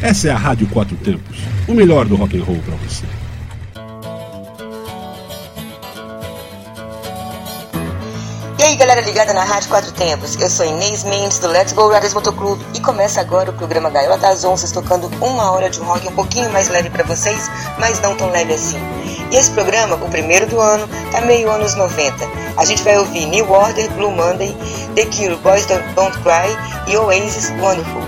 Essa é a Rádio Quatro Tempos, o melhor do rock and roll para você. E aí, galera ligada na Rádio Quatro Tempos, eu sou Inês Mendes do Let's Go Riders Motoclube e começa agora o programa Gaiola das Onças, tocando uma hora de rock um pouquinho mais leve pra vocês, mas não tão leve assim. E esse programa, o primeiro do ano, tá meio anos 90. A gente vai ouvir New Order, Blue Monday, The Cure, Boys Don't Cry e Oasis, Wonderful.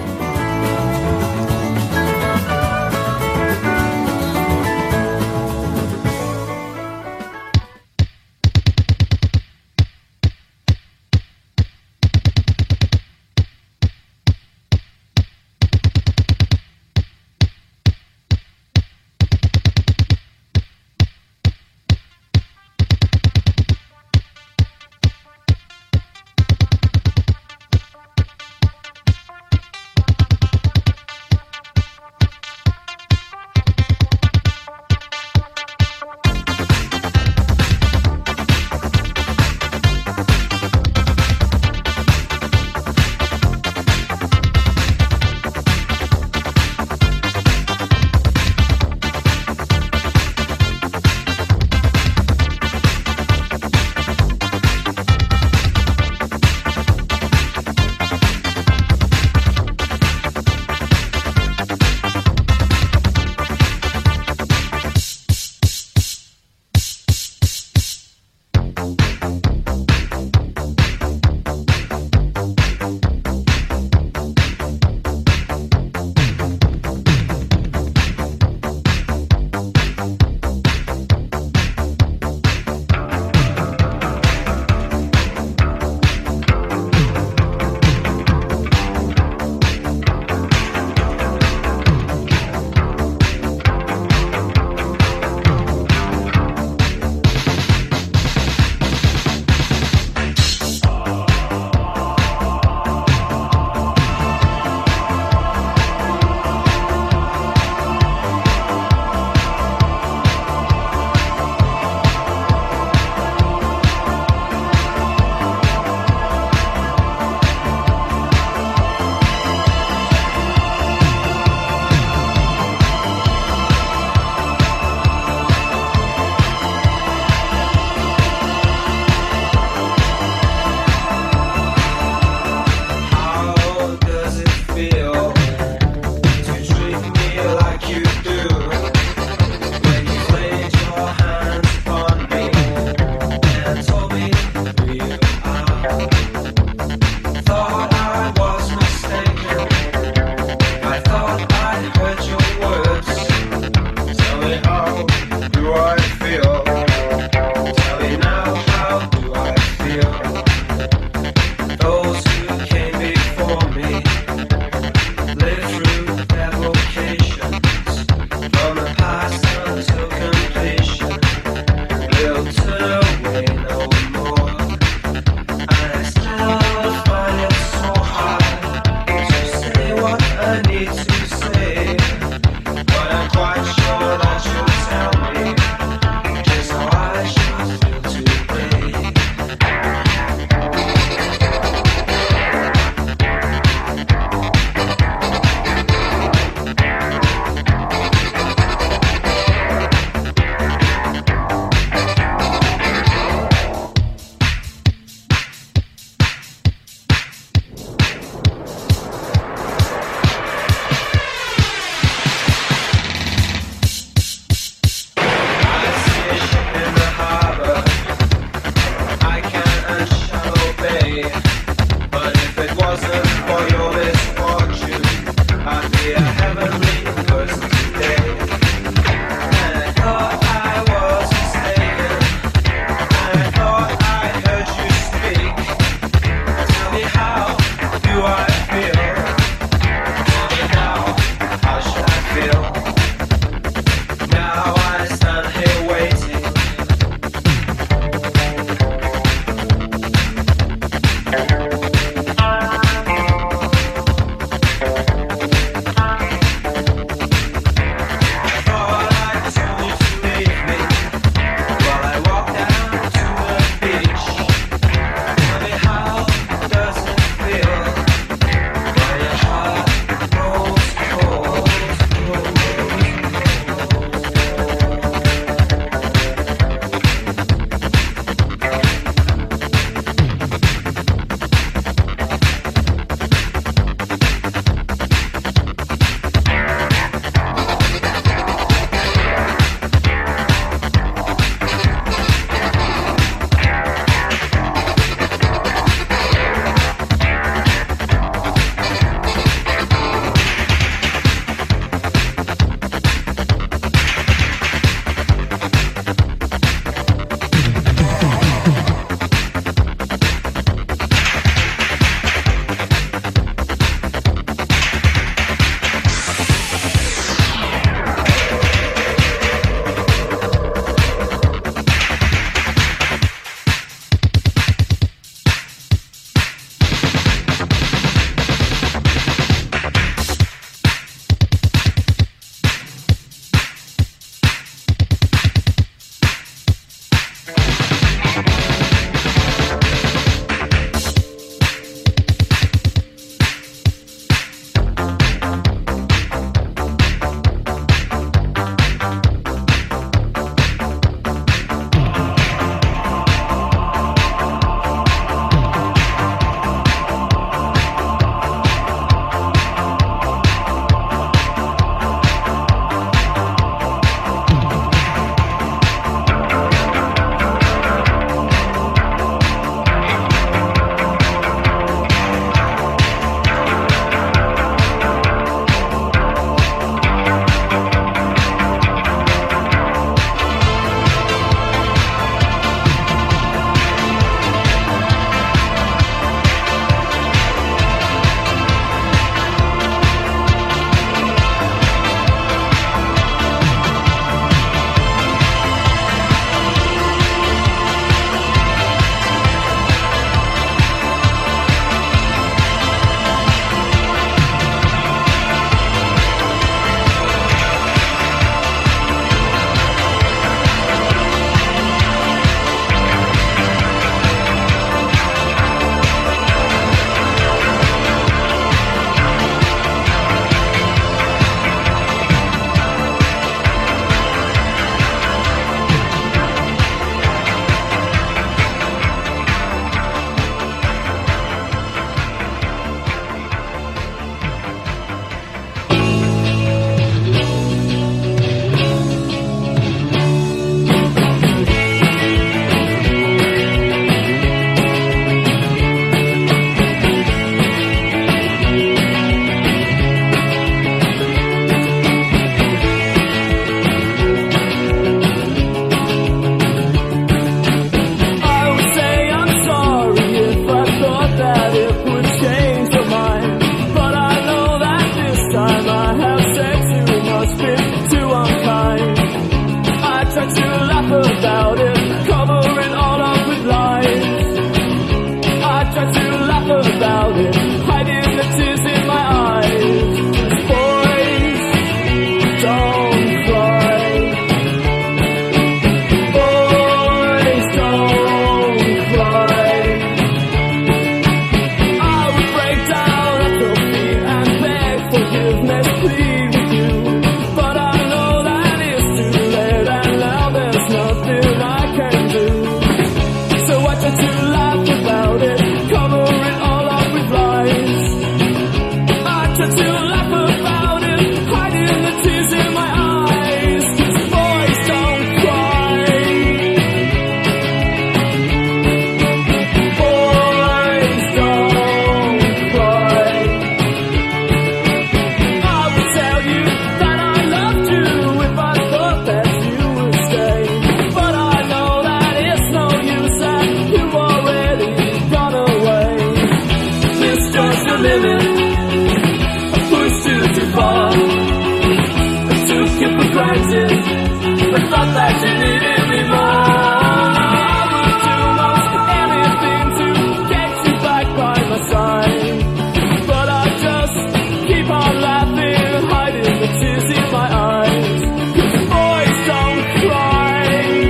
it. I pushed you too far. I took you for granted. I thought that you needed me more. I would do most anything to get you back by my side. But I just keep on laughing, hiding the tears in my eyes. 'Cause boys don't cry.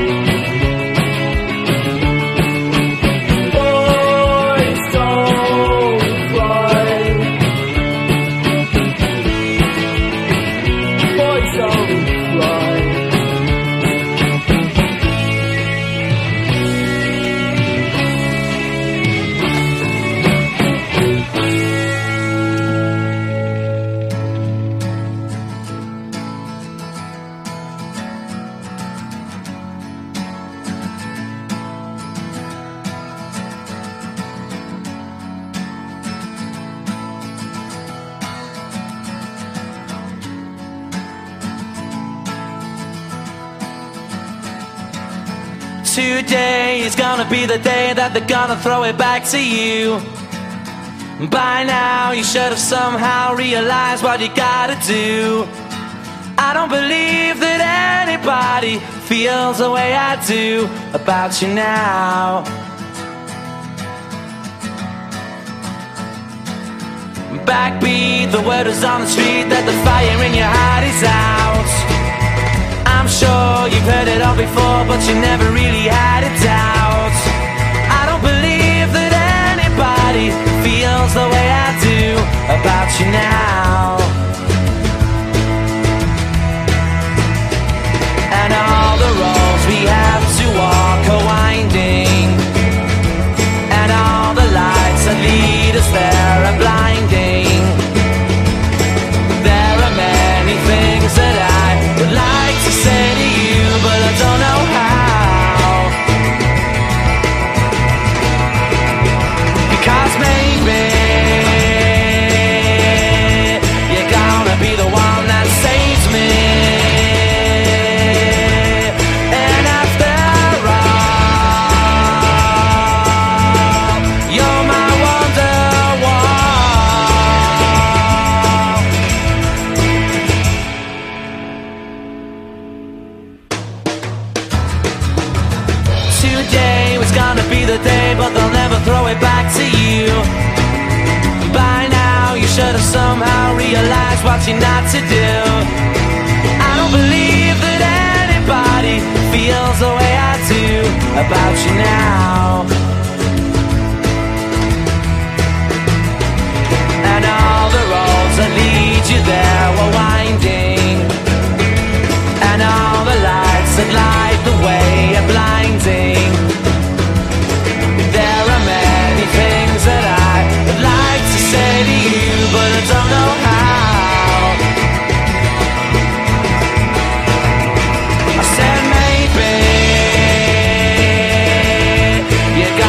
Boys don't cry. Boys don't cry. Today is gonna be the day that they're gonna throw it back to you. By now you should have somehow realized what you gotta do. I don't believe that anybody feels the way I do about you now. Backbeat, the word is on the street that the fire in your heart is out. I'm sure you've heard it all before, but you never really had a doubt. I don't believe that anybody feels the way I do about you now. And all the roads we have to walk are winding, and all the lights that lead us there are blinding. There are many things that I would like to say to you, but I don't know how. Because maybe you're gonna be the one that saves me. And after all, you're my Wonderwall. Today was gonna be the day, but they'll never throw it back to you. By now you should have somehow realized what you're not to do. I don't believe that anybody feels the way I do about you now. And all the roads that lead you there were winding, and all the lights that light the way are blinding. There are many things that I would like to say to you, but I don't know how. I said maybe you're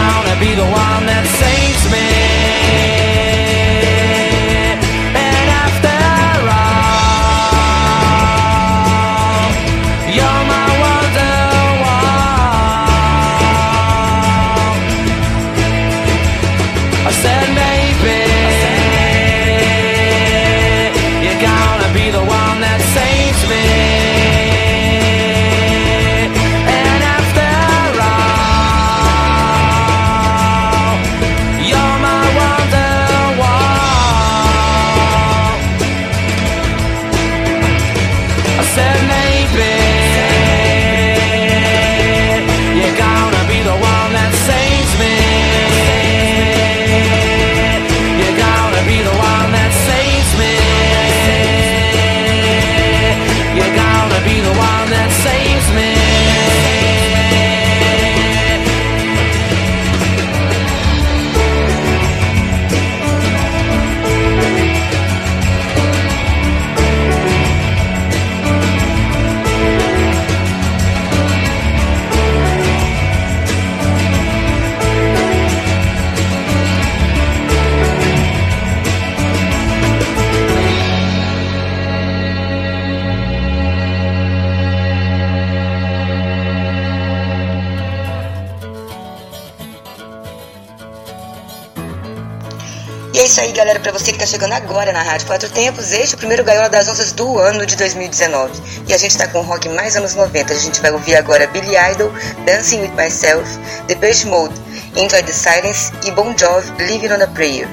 isso aí, galera, pra você que tá chegando agora na Rádio Quatro Tempos, este é o primeiro Gaiola das Onças do ano de 2019. E a gente tá com rock mais anos 90. A gente vai ouvir agora Billy Idol, Dancing With Myself, Depeche Mode, Enjoy the Silence e Bon Jovi, Living on a Prayer.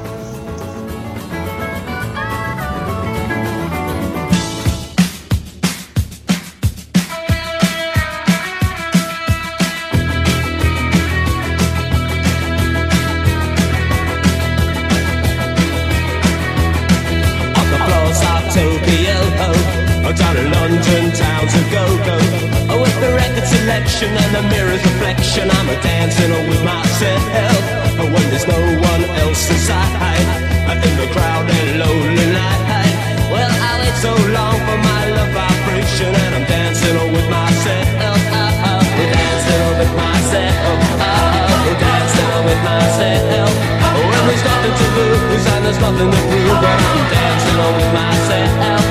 Down in London town to go-go, with the record selection and the mirror's reflection, I'm dancing with myself, when there's no one else inside, in the crowded lonely night. Well, I wait so long for my love vibration, and I'm dancing with myself, dancing with myself, dancing with myself. Well, there's nothing to lose and there's nothing to prove, but I'm dancing with myself.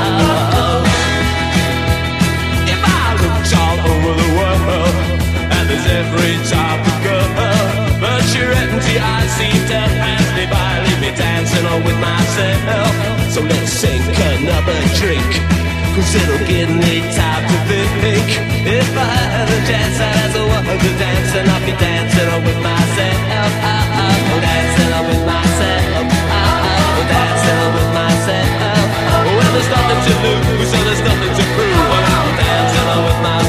All over the world, and there's every type of girl, but your empty eyes seem to pass me by, leave me dancing on with myself. So let's sink another drink, cause it'll give me time to think. If I had a chance, I'd ask the world to dance, and I'll be dancing on with myself. Dancing on with myself. Dancing on with myself. Well, there's nothing to lose, so there's nothing to prove, but I'm dancing on with myself.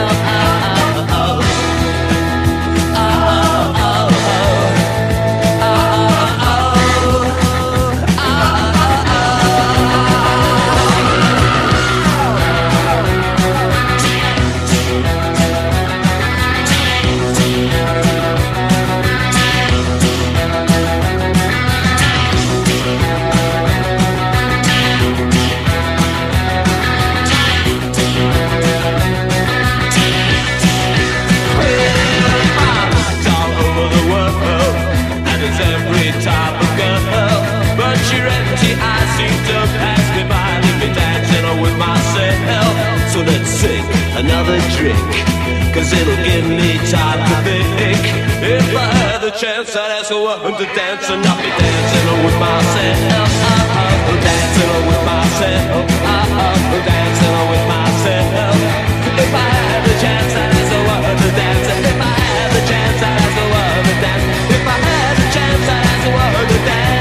So let's sink another drink, cause it'll give me time to think. If I had the chance, I'd ask a woman to dance, and I'll be dancing with myself. Dancing with myself. Dancing with myself. If I had the chance, I'd ask a woman to dance. If I had the chance, I'd ask a woman to dance. If I had the chance, I'd ask a woman to dance.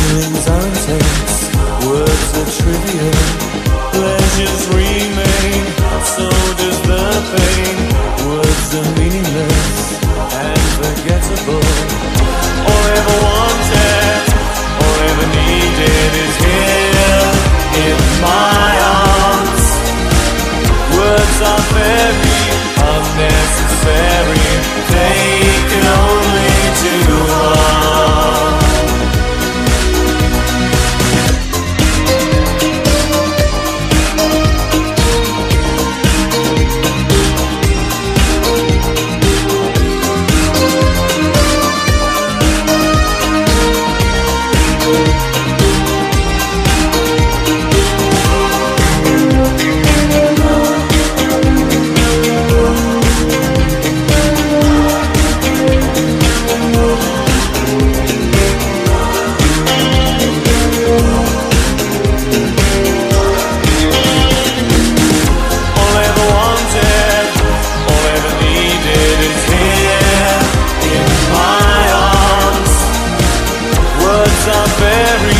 Feelings are intense, words are trivial, pleasures remain, so does the pain. Words are meaningless and forgettable. All ever wanted, all ever needed is here in my arms. Words are very unnecessary, they can only do harm. Very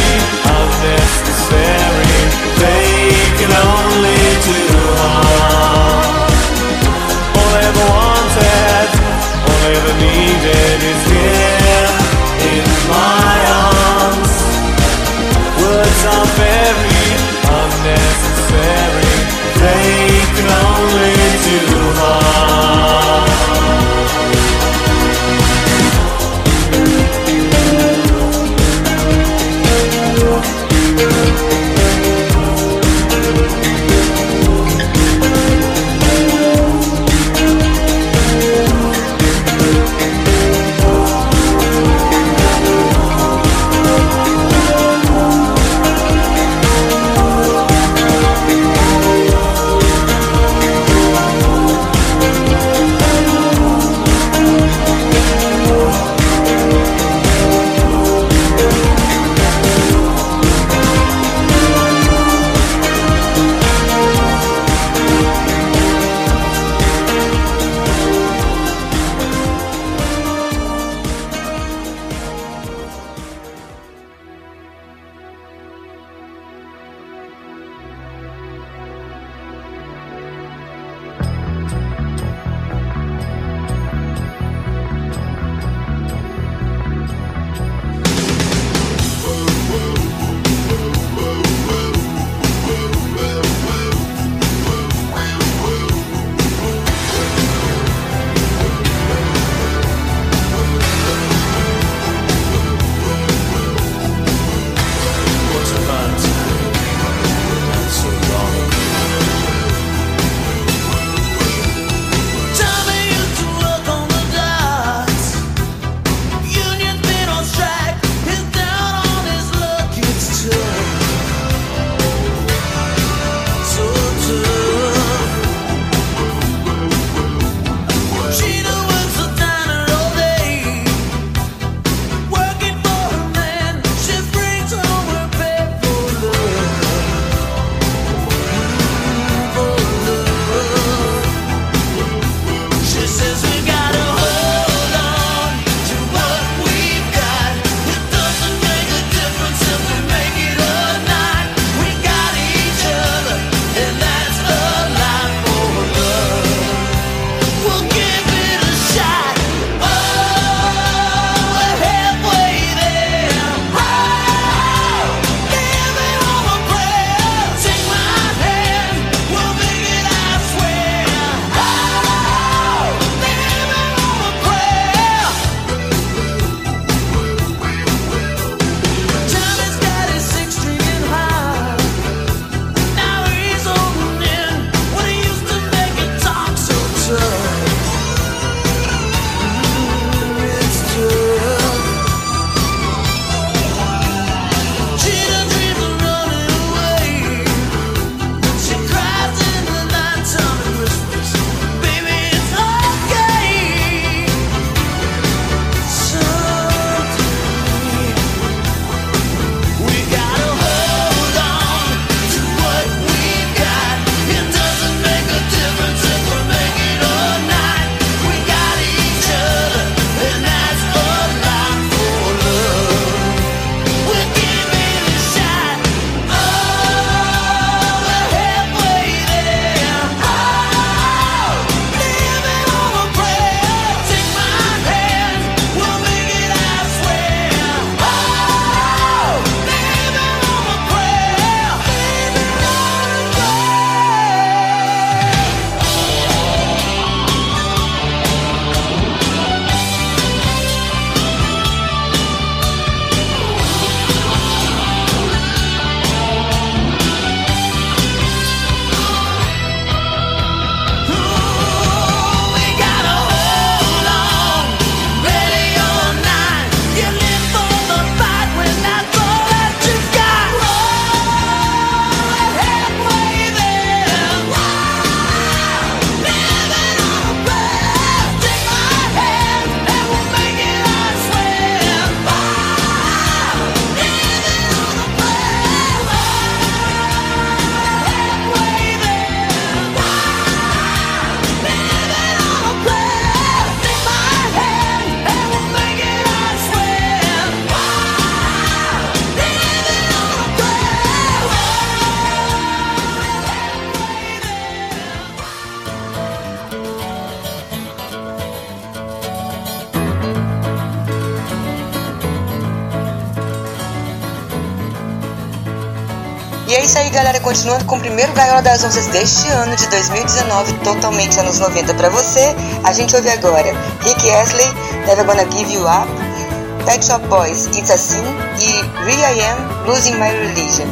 E é isso aí, galera, continuando com o primeiro Gaiola das Onças deste ano de 2019, totalmente anos 90 pra você. A gente ouve agora Rick Astley, Never Gonna Give You Up, Pet Shop Boys, It's a Sin e will.i.am, Losing My Religion.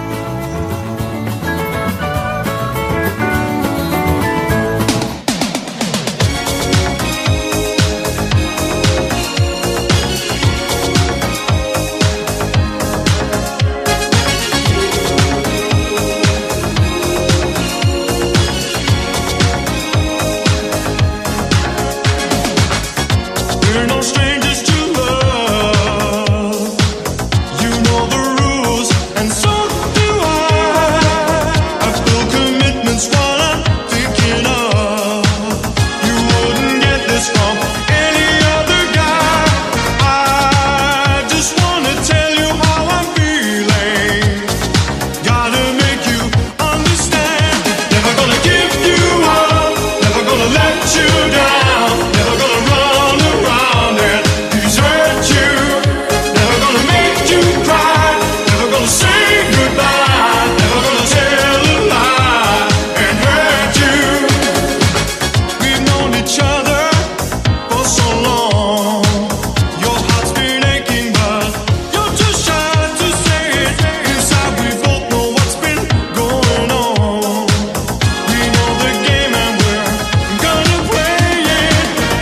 We're no strangers to love. You know the rules, and so do I. I feel commitment's what I'm thinking of. You wouldn't get this from any other guy. I just wanna tell you how I'm feeling. Gotta make you understand. Never gonna give you up. Never gonna let you down. Never gonna run around and desert you. Never gonna make you cry. Never gonna say goodbye. Never gonna tell a lie and hurt you. We've known each other for so long. Your heart's been aching, but you're too shy to say it. Inside we both know what's been going on. We know the game and we're gonna play it.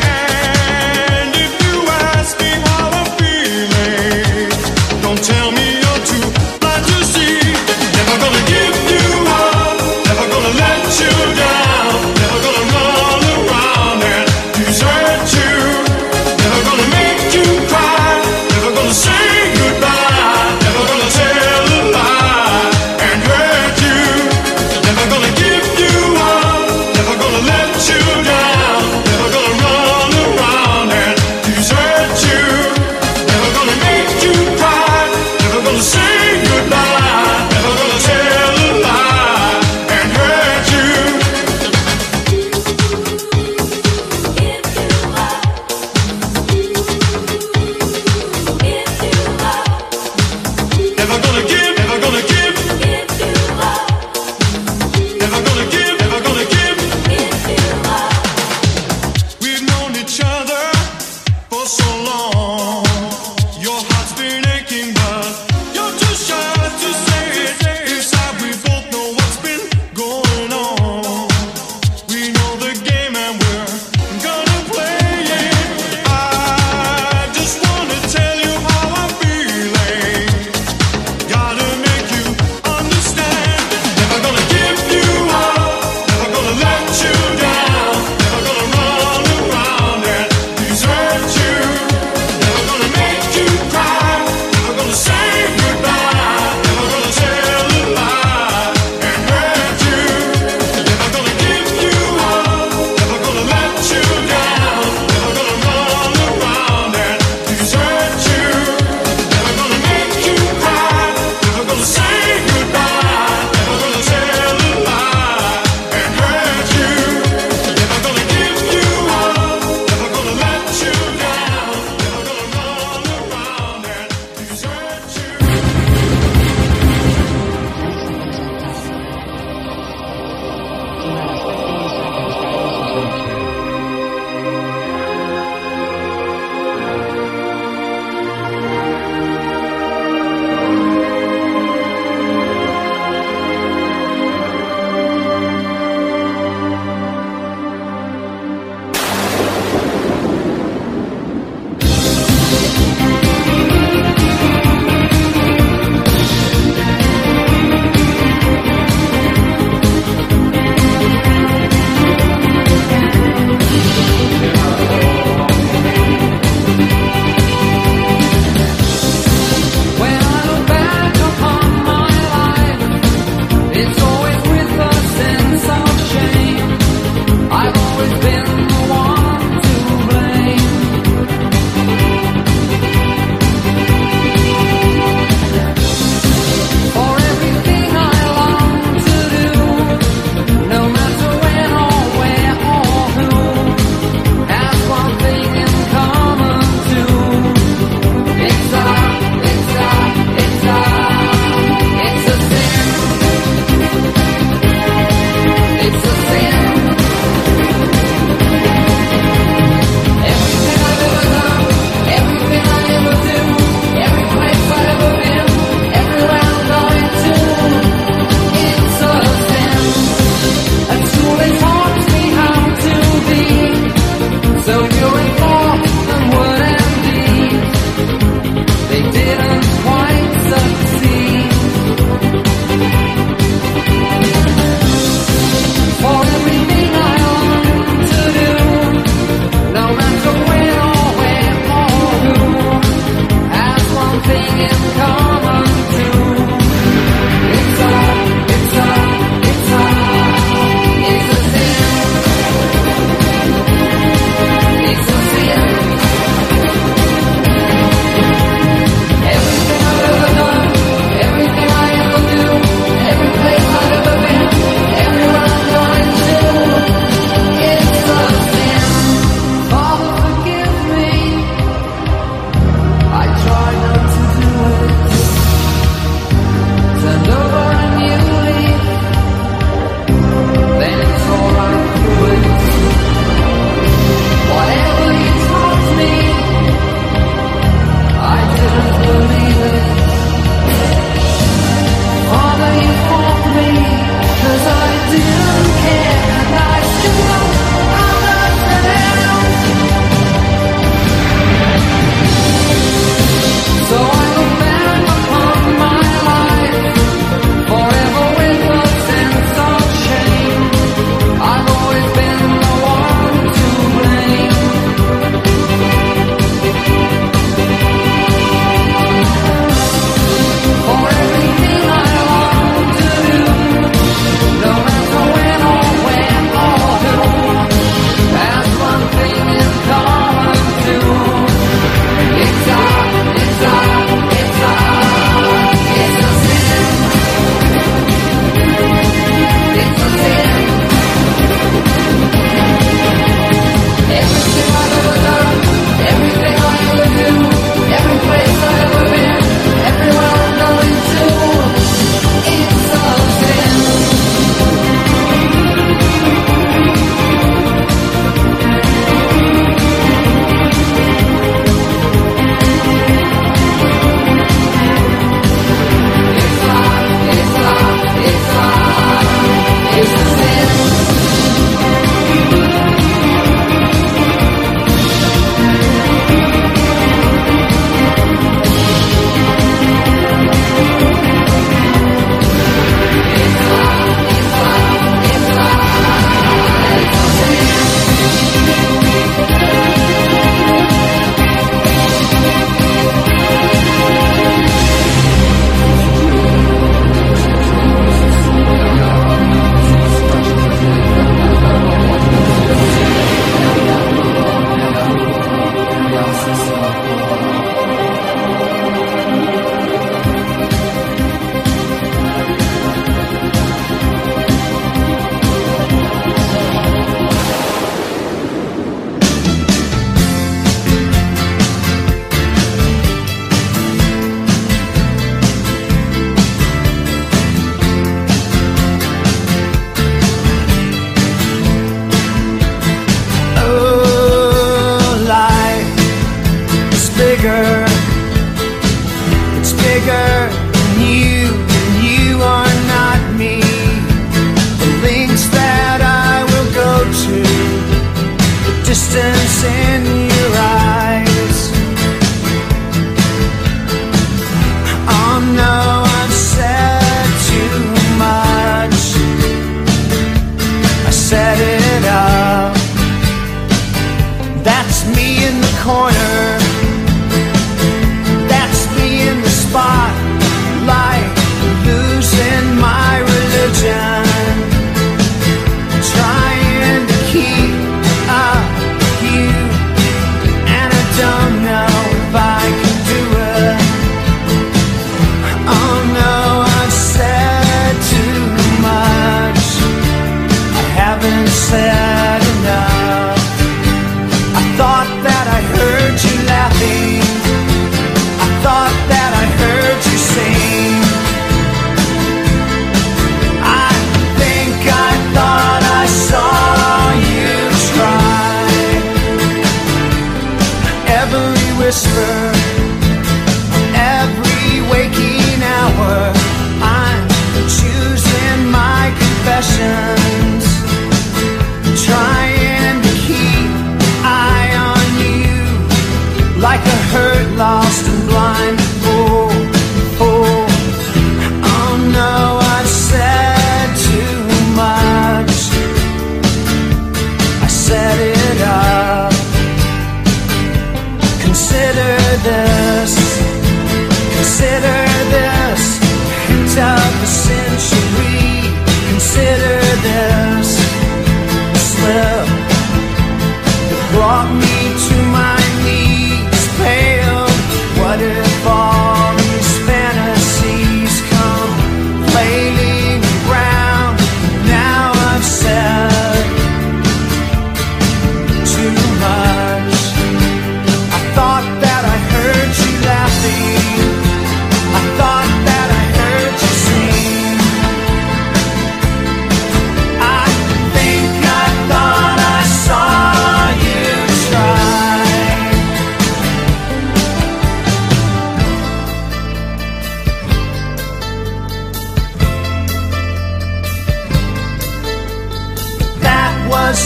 And if you ask me how I'm feeling, don't tell me you're too blind to see. Never gonna give you up. Never gonna let you down. Never gonna run around and desert you. Never gonna make you cry. Never gonna say goodbye. Never gonna tell a lie and hurt you. Never gonna give you up. Never gonna let you down. Never gonna run around and desert you. Never gonna make you cry. Never gonna say goodbye. Never gonna tell a lie and hurt you. Never gonna give, never gonna give. Never gonna give, never gonna give. We've known each other for so long. Your heart's been aching, but you're too shy to say it. Inside we both know what's been going on. We know the game and we're gonna play it. I just wanna tell you how I'm feeling. Gotta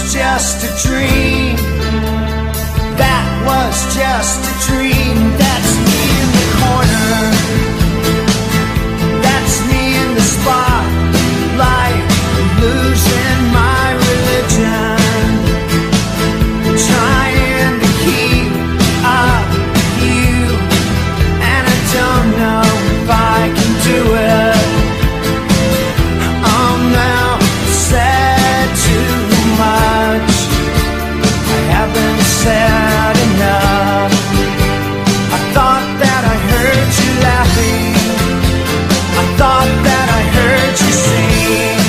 just a dream. That was just a dream. That's me in the corner. That's me in the spotlight, losing my religion, trying to keep up with you, and I don't know if I can do it. I'm now said too much. I haven't said enough. I thought that I heard you laughing. I thought that I heard you sing.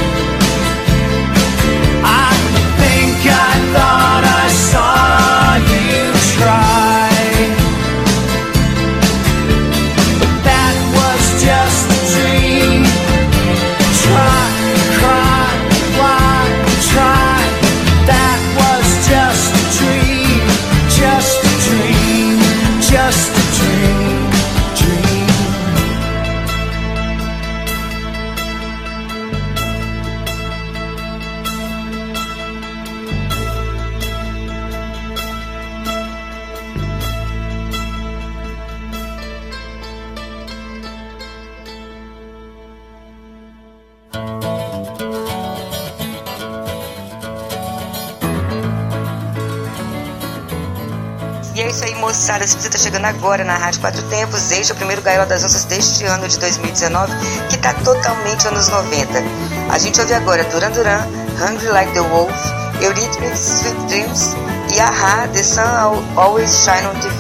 I think I thought I saw you try. But that was just a dream. Try, cry, why, try. That was just a dream. Just a dream. Just a dream. Dream. E é isso aí, moçada. Se você tá chegando agora na Rádio Quatro Tempos, este é o primeiro Gaiola das Onças deste ano de 2019, que tá totalmente anos 90. A gente ouve agora Duran Duran, Hungry Like the Wolf, Eurythmics, Sweet Dreams e A-ha, The Sun Always Shine on TV.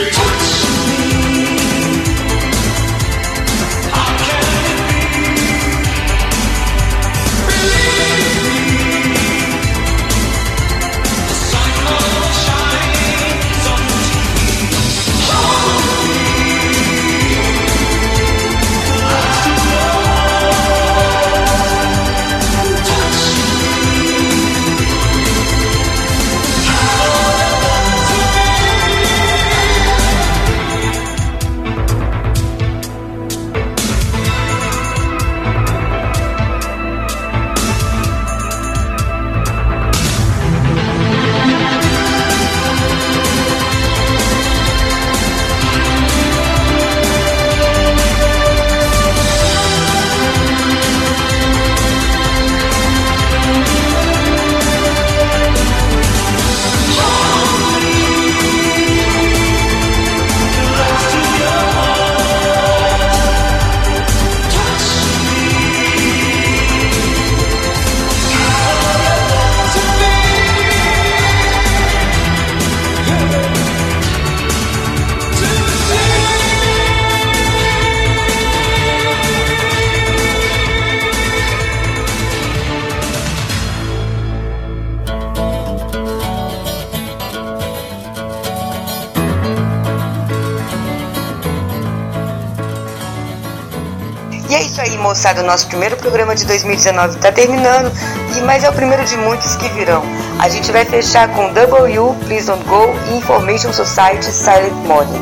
E é isso aí, moçada, o nosso primeiro programa de 2019 tá terminando, mas é o primeiro de muitos que virão. A gente vai fechar com W, Please Don't Go e Information Society, Silent Morning.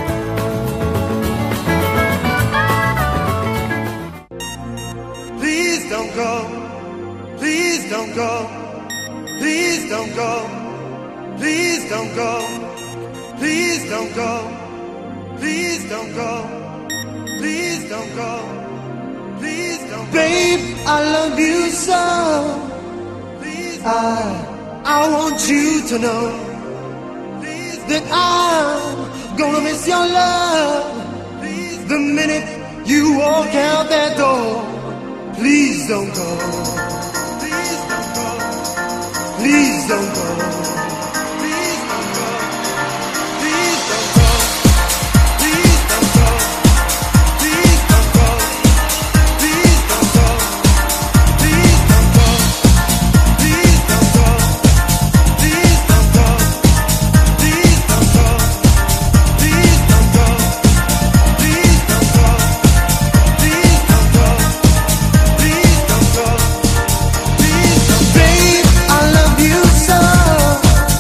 Please don't go, please don't go, please don't go, please don't go, please don't go, please don't go, please don't go, please don't go. Babe, I love you so. I want you to know that I'm gonna miss your love the minute you walk out that door. Please don't go. Please don't go. Please don't go. Please don't go. Please don't go. Please don't go. Please don't go. Please don't go. Please don't go. Please don't go. Please don't go. Please don't go. Please don't go. Please don't go. Please don't go. Please don't go. Please don't go. Babe, I love you so.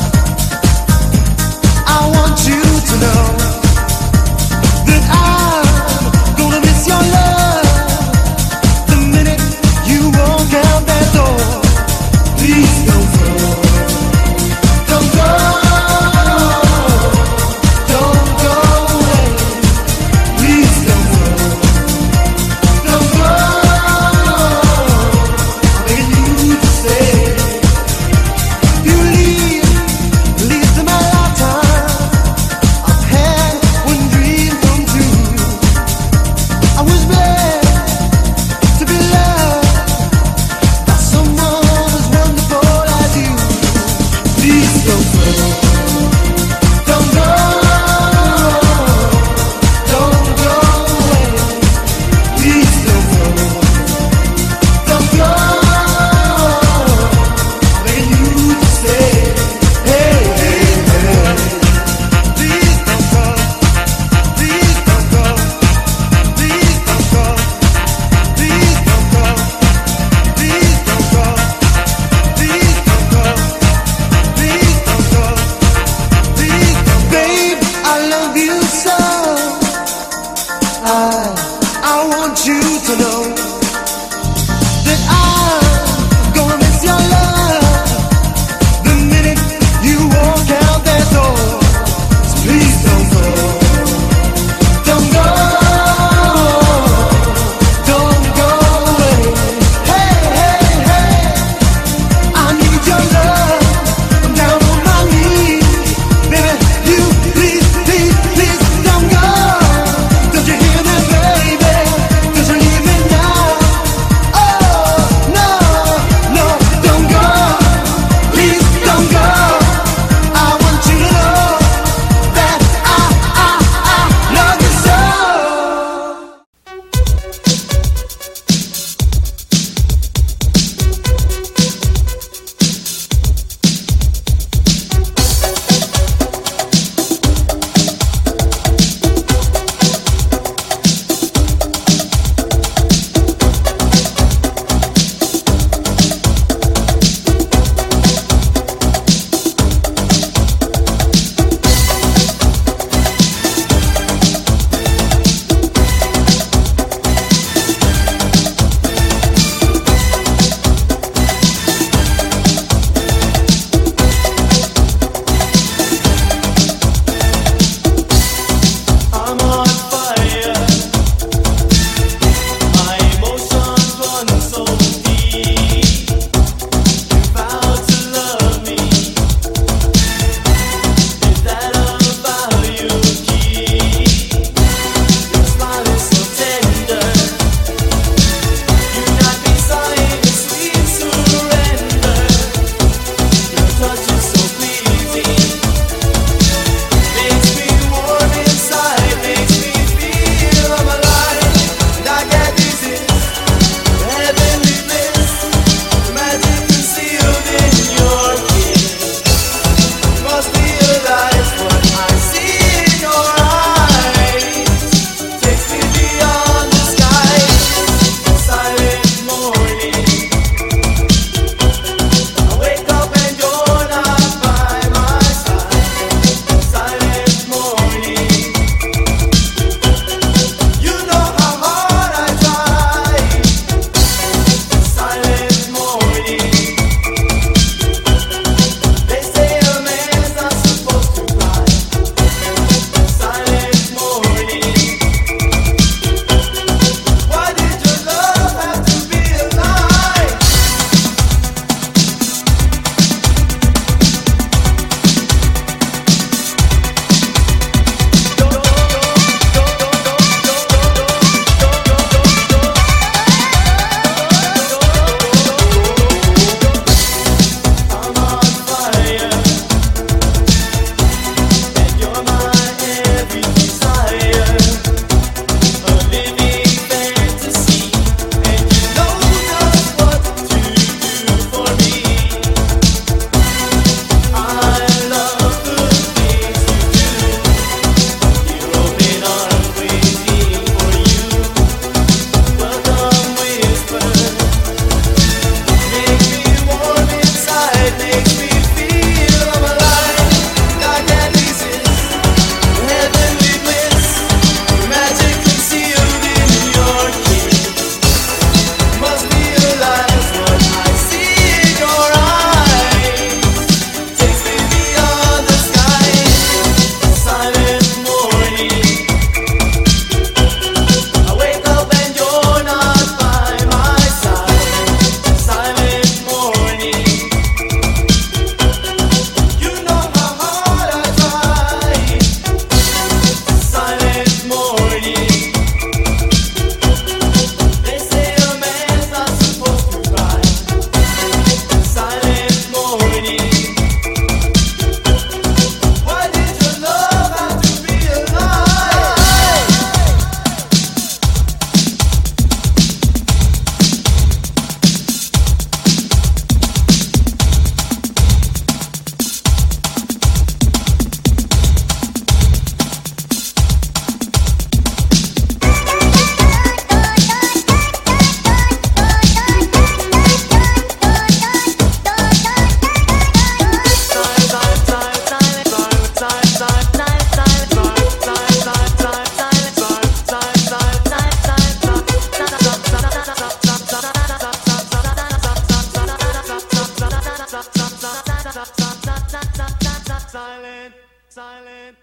silent, silent.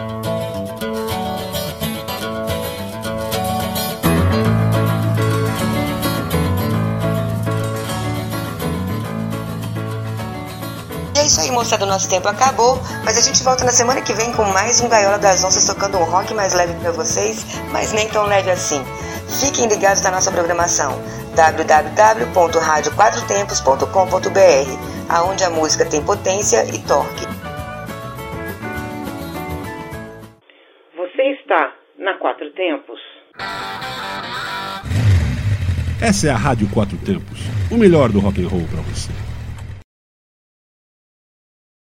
E é isso aí, moçada, o nosso tempo acabou, mas a gente volta na semana que vem com mais um Gaiola das Onças, tocando um rock mais leve pra vocês, mas nem tão leve assim. Fiquem ligados na nossa programação www.radioquatrotempos.com.br, aonde a música tem potência e torque. Você está na Quatro Tempos. Essa é a Rádio Quatro Tempos, o melhor do rock and roll pra você.